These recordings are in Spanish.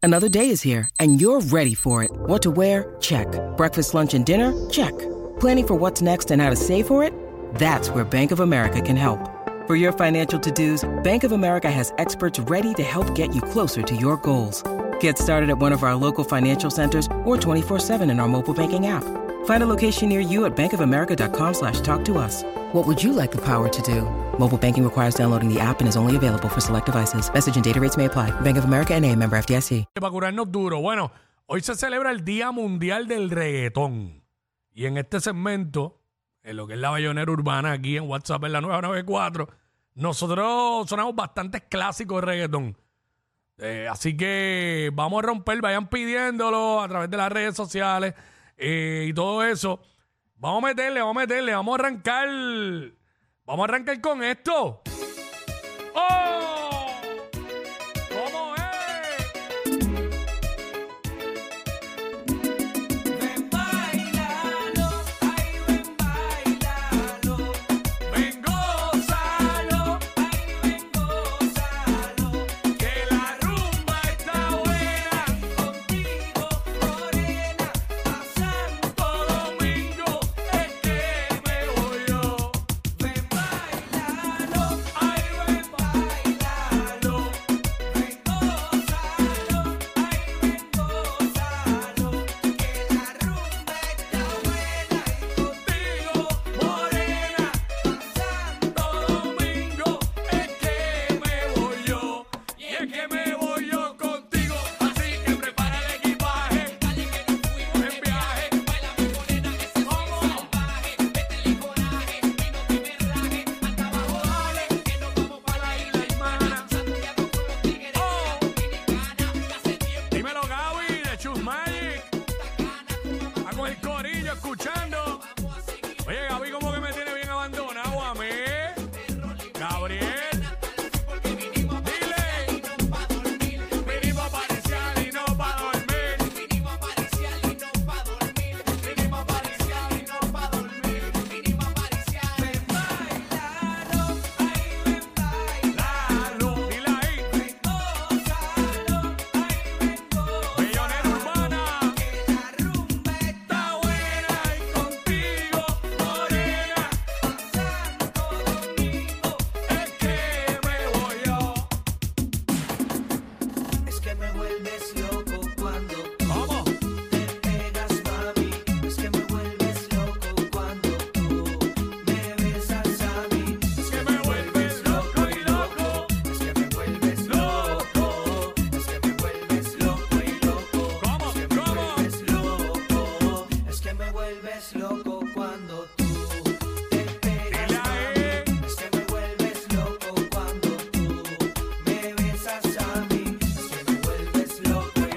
Another day is here, and you're ready for it. What to wear? Check. Breakfast, lunch, and dinner? Check. Planning for what's next and how to save for it? That's where Bank of America can help. For your financial to-dos, Bank of America has experts ready to help get you closer to your goals. Get started at one of our local financial centers or 24/7 in our mobile banking app. Find a location near you at bankofamerica.com/talktous. What would you like the power to do? Mobile banking requires downloading the app and is only available for select devices. Message and data rates may apply. Bank of America N.A., member FDIC. Para curarnos duro. Bueno, hoy se celebra el Día Mundial del Reggaetón. Y en este segmento, en lo que es la Bayonera Urbana, aquí en WhatsApp en la 994, nosotros sonamos bastantes clásicos de reggaetón. Así que vamos a romper, vayan pidiéndolo a través de las redes sociales y todo eso. Vamos a meterle, vamos a arrancar. Vamos a arrancar con esto. ¡Oh! ¿Cómo es? Ven, bailalo, ay, ven, bailalo. Ven, gózalo, ay, ven, gózalo. Que la rumba está buena. Contigo, morena, a Santo Domingo es que me voy yo. Ven, bailalo, ay, ven, bailalo. Ven, gózalo, ay, ven, gózalo. Que la rumba está buena y contigo, morena, a Santo Domingo es que me voy yo. Y es que me voy yo contigo, así que prepara el equipaje. Dale que nos fuimos en viaje. Baila mi morena que se sigue salvaje. Métele coraje y no te me rajes. Hasta abajo dale, que nos vamos para la isla hermana. Santiago con los tigres, Dominicana. Que hace tiempo Dímelo, Gaby, de Chus Magic. Cana, A con el corillo escuchando. vamos a seguir. Oye, Gaby, como que me tiene bien abandonado a mí. Gabriel, Porque vinimos a dile. y no pa' dormir. Vinimos a pariciar y no pa' dormir. Vinimos a pariciar y no pa' dormir. Vinimos a pariciar y no pa' dormir. Vinimos a pariciar. Ven, bailalo, ay, ven, bailalo. Dile ahí. Ven, gózalo, ay, ven, gózalo. Bayonera Urbana. Que la rumba está buena y contigo, morena, a Santo Domingo Es que me voy yo. es que me vuelves loco cuando tú ¿Cómo? te pegas, mami. Es que me vuelves loco cuando tú me besas a mí. Es que me vuelves loco y loco. Es que me vuelves loco. Es que me vuelves loco y loco. ¿Cómo? Es que me ¿Cómo? vuelves loco. Es que me vuelves loco cuando tú te pegas, Dile ahí. mami. Es que me vuelves loco cuando tú me besas a mí. Es que me vuelves loco y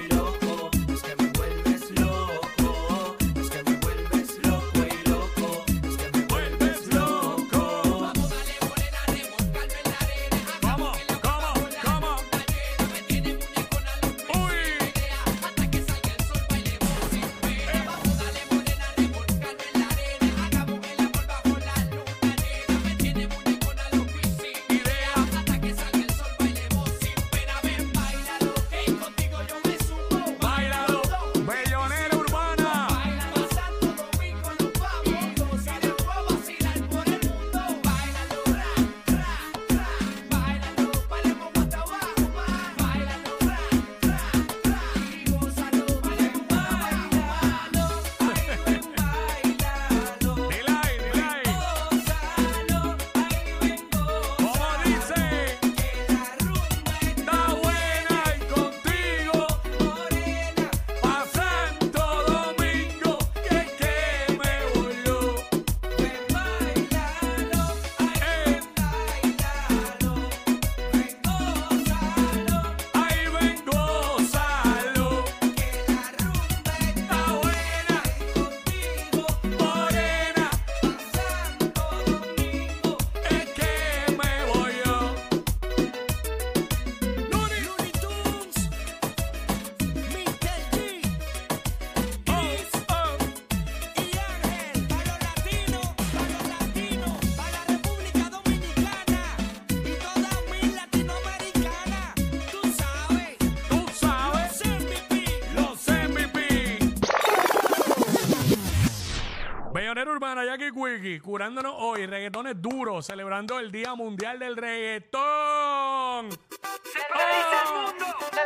Urbana, Jackie Quickie, curándonos hoy, reggaetones duros, celebrando el Día Mundial del Reggaetón. Se paraliza el mundo.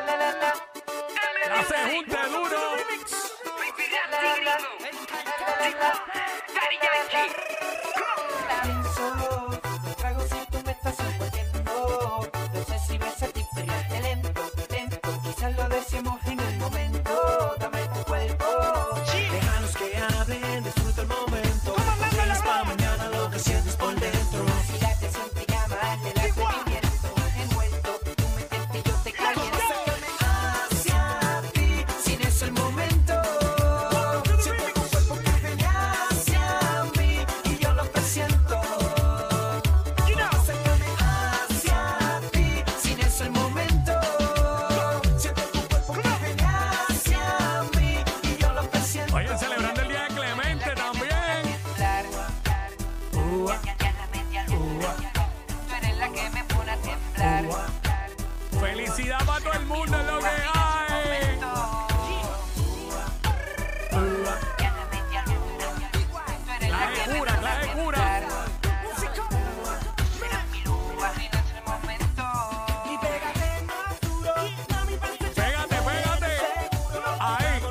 La se junte duro. Solo los tragos si tú me estás envolviendo. No sé si ves el diferente lento, lento. Quizás lo decimos en el momento. Dame tu cuerpo. Déjalos que hablen, disfruta el momento. Feliz pa' mañana lo que sientes por dentro. Si la te siente llama, el atrevimiento. Envuelto, tú me tentes y yo te caliento. Hacia ti, sin eso el momento. Siento tu cuerpo que viene hacia mí y yo lo presiento. Acércame hacia ti, sin eso el momento. Siento tu cuerpo que viene hacia mí y yo lo presiento. Oye, celebrando el Día de Clemente también. Tú eres la que me pone a temblar. Felicidad para todo el mundo es lo que hay. Clase de cura. Y pégate más duro, mami, Pégate. Ahí.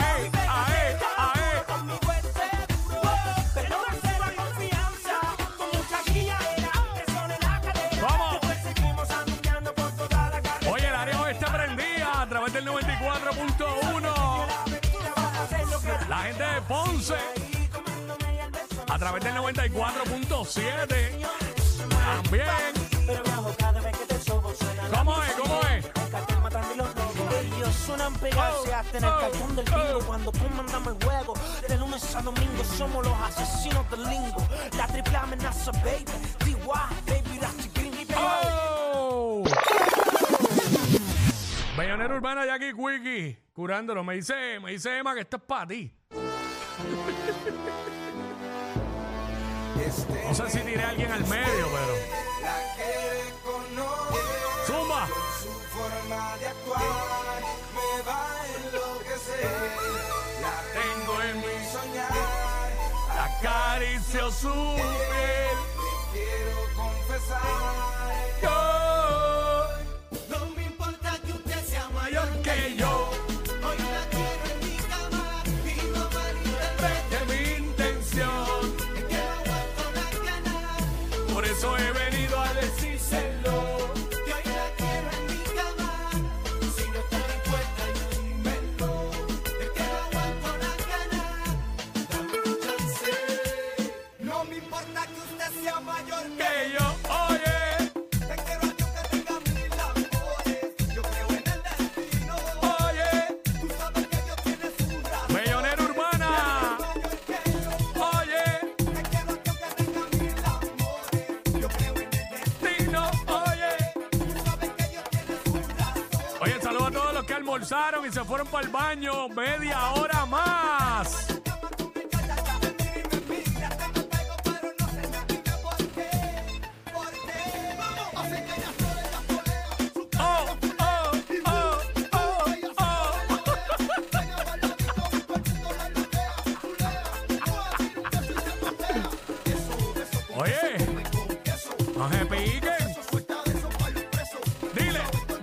conmigo es seguro. Pero no se va confianza, con mucha guilladera, presión en la cadera. Vamos. Después seguimos anunciando por toda la carretera. Oye, el área oeste prendía a través del 94.1. La gente de Ponce a través del 94.7. También. Pero bajo cada vez que te sobo suena la ¿Cómo es? el cartel matando y los lobos. Ellos suenan pegarse hasta en el cartón del bingo. Cuando comandamos el juego, de lunes a domingo somos los asesinos del lingo. La triple amenaza, baby. DY, baby, that's the green, baby. ¡Oh! Bayonera Urbana, Jackie Quickie, curándolo. Me dice Emma que esto es para ti. No sé si tiré a alguien al medio, pero. La que conoce ¡Zumba! su forma de actuar me va a enloquecer. La tengo en mi soñar, Acaricio su piel. te quiero confesar. Yo, No me importa que usted sea mayor que yo, hoy la quiero en mi cama y no malinterprete. de mi intención. Es que no aguanto la gana, Por eso he venido a decírselo. que hoy la quiero en mi cama. Si no está dispuesta, yo dímelo. Es que no aguanto la gana, dame un chance. No me importa que usted sea mayor Que yo, oye, te quiero a Dios que tenga mil amores. Yo creo en el destino. oye, Tú sabes que Dios tiene su razón. Bayonera Urbana. Mayor que yo. Oye, Te quiero a Dios que tenga mil amores. Yo creo en el destino. Tino, oye. Tú sabes que Dios tiene su razón. Oye, saludos a todos los que almorzaron y se fueron para el baño. Media hora más. Oh, oh, oh, oh, oh. Oye, no se piquen. Dile.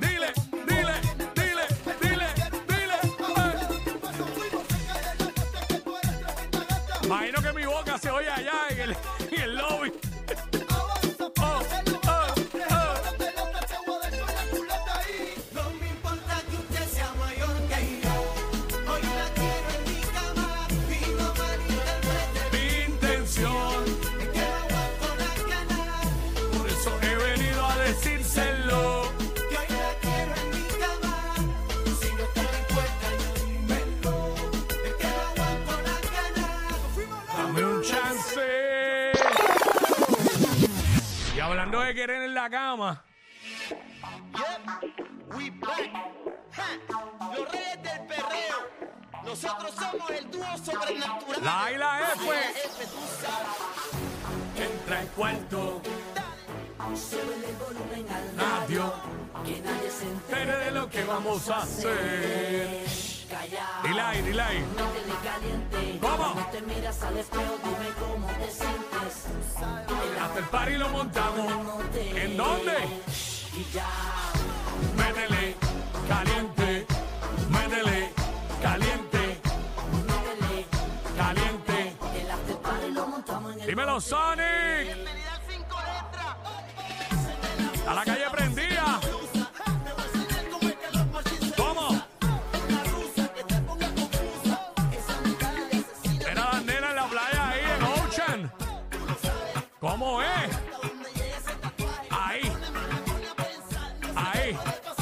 Imagino que mi boca se oye allá en el lobby. No me importa que usted sea mayor que yo. Hoy la quiero en mi cama y no malinterprete. Mi intención, Es que no aguanto la gana. por eso he venido a decírselo. Que hoy la quiero en mi cama. Si no está dispuesta, yo dímelo. Es que no aguanto la gana. Dame un chance. Y hablando de querer en la cama, We back. Ja, los reyes del perreo. Nosotros somos el dúo sobrenatural. la A y la F. F, tú sabes. Entra al cuarto, Súbele el volumen al radio, que nadie se entere entere de lo que vamos a hacer. callado. Y Dile ahí, dile ahí. Métele caliente. ¿Cómo? Cuando te miras al espejo, dime cómo te sientes. El Hasta el party lo montamos. after ¿En dónde? y ya. Métele caliente. Métele caliente. Métele Caliente. el after party lo montamos en el Dímelo, Sonic. Bienvenida al 5 letras. A la calle prendida. ¿Cómo? Era la nena en la playa ahí en Ocean. ¿Cómo es? Ahí. Ahí.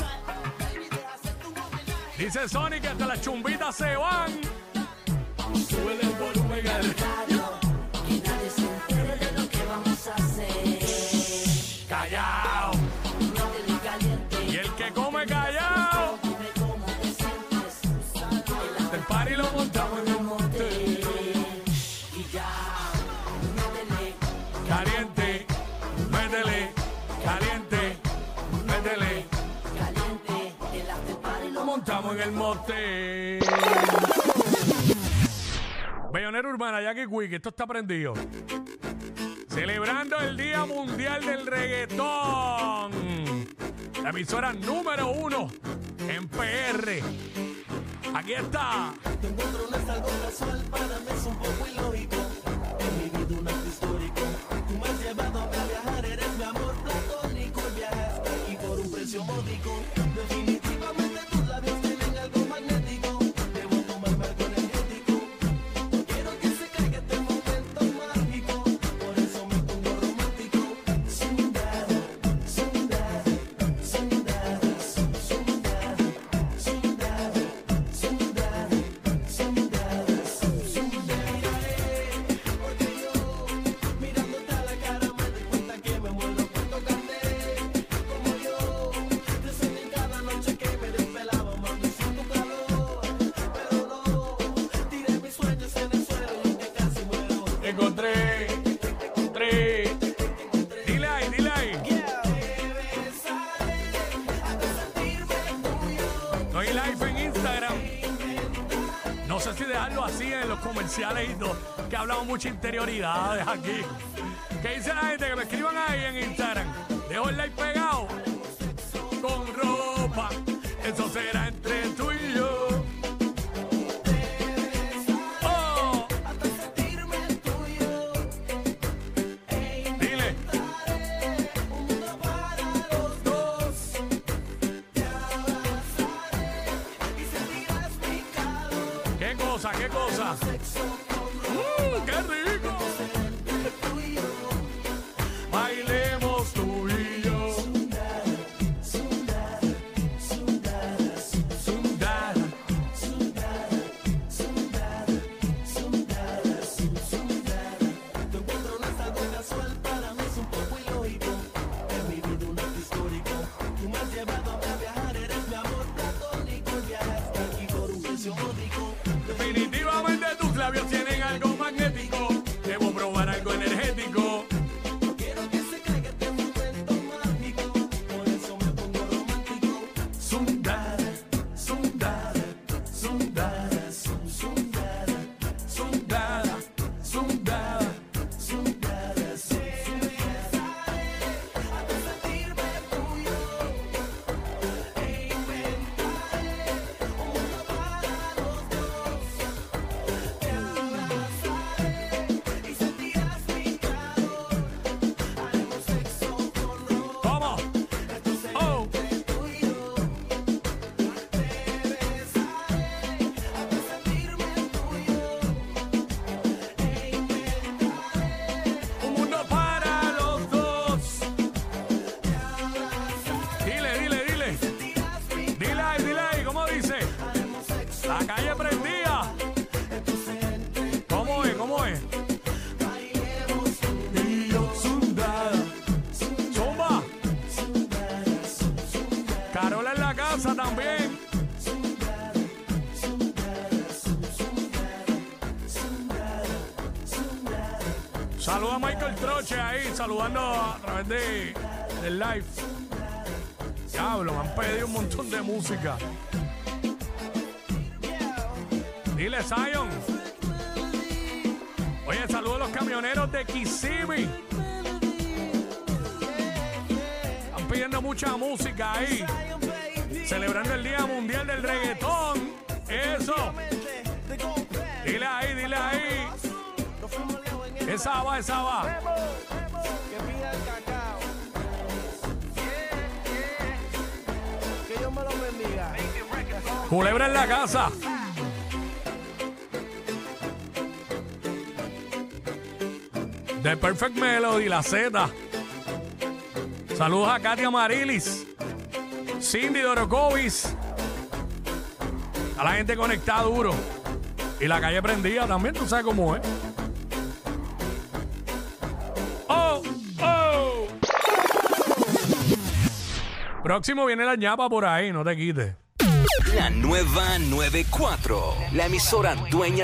Dice Sonic que hasta las chumbitas se van. Súbele el volumen al radio. Que nadie se entere de lo que vamos a hacer. callao. Métele caliente. Y el que come callao. Dime cómo te sientes. El El party lo montamos en el monte. y ya. Métele Caliente. Métele. Caliente. Métele. caliente. El after party lo Montamos en el monte. Bellonera Urbana, Jackie Quick, esto está prendido. Celebrando el Día Mundial del Reggaetón. La emisora número 1 en PR. Aquí está. Te encuentro no es algo casual, para mí es un poco ilógico. En mi vida un acto histórico. Tú me has llevado a viajar, eres mi amor platónico. Y viajaste aquí por un precio módico. Definitivamente tus labios tienen algo magnético. Debo tomarme algo energético. No quiero que se caiga este momento mágico. Por eso me pongo romántico. Sundada, sundada, sundada, sundada, sundada, sundada, sundada, sundada. Porque yo, mirándote a la cara, me doy cuenta que me muero por tocarte. Como yo, te soñé cada noche que me desvelaba, mami, sin tu calor. Pero no, tiré mis sueños en el suelo y que casi muero. Encontré. Dile ahí, dile ahí. No hay live en Instagram. No sé si dejarlo así en los comerciales y todo, que hablamos muchas interioridades aquí. ¿Qué dice la gente? Que me escriban ahí en Instagram. Dejo el like pegado. Con ropa. Eso será entre tú y yo. Oh. Dile. ¿Qué cosa? ¿Qué cosa? ¡Qué rico! Bailemos tú y yo. Sundada. Tu encuentro no es algo casual, para mí es un poco ilógico. En mi vida un acto histórico. Tú me has llevado a viajar, eres mi amor platónico. Y viajaste aquí por un precio módico. Definitivamente tus labios tienen algo magnético. Debo probar algo energético. No quiero que se caiga este momento mágico. Por eso me pongo romántico. Sundada, sundada, sundada, sundada, sundada, sundada. Sundada, hasta sentirme tuyo. E inventaré un mundo para los dos. Te abrazaré y sentirás mi calor. Haremos sexo con ropa. ¿Cómo? Esto será Oh. entre tú y yo. Te besaré hasta sentirme tuyo. E inventaré Un mundo para los dos. Dile, dile, dile. Dile ahí, ¿cómo dice? La calle prendida. ¿Cómo es? ¿Cómo es? Y yo sundada. Zumba. Carola en la casa también. Saluda a Michael Troche ahí, saludando a través del live. Diablo, me han pedido un montón de música. Dile, Zion. Oye, saludos a los camioneros de Kissimmee. Están pidiendo mucha música ahí. Celebrando el Día Mundial del Reggaetón. Eso. Dile ahí, dile ahí. Esa va, esa va. Que pida el cacao. Que Dios me lo bendiga. Culebra en la casa. The Perfect Melody, la Z. Saludos a Katia Marilis, Cindy Dorokovis. A la gente conectada duro. Y la calle prendida también, tú sabes cómo es. ¡Oh! ¡Oh! Próximo viene la ñapa por ahí, no te quites. La nueva 94, la emisora dueña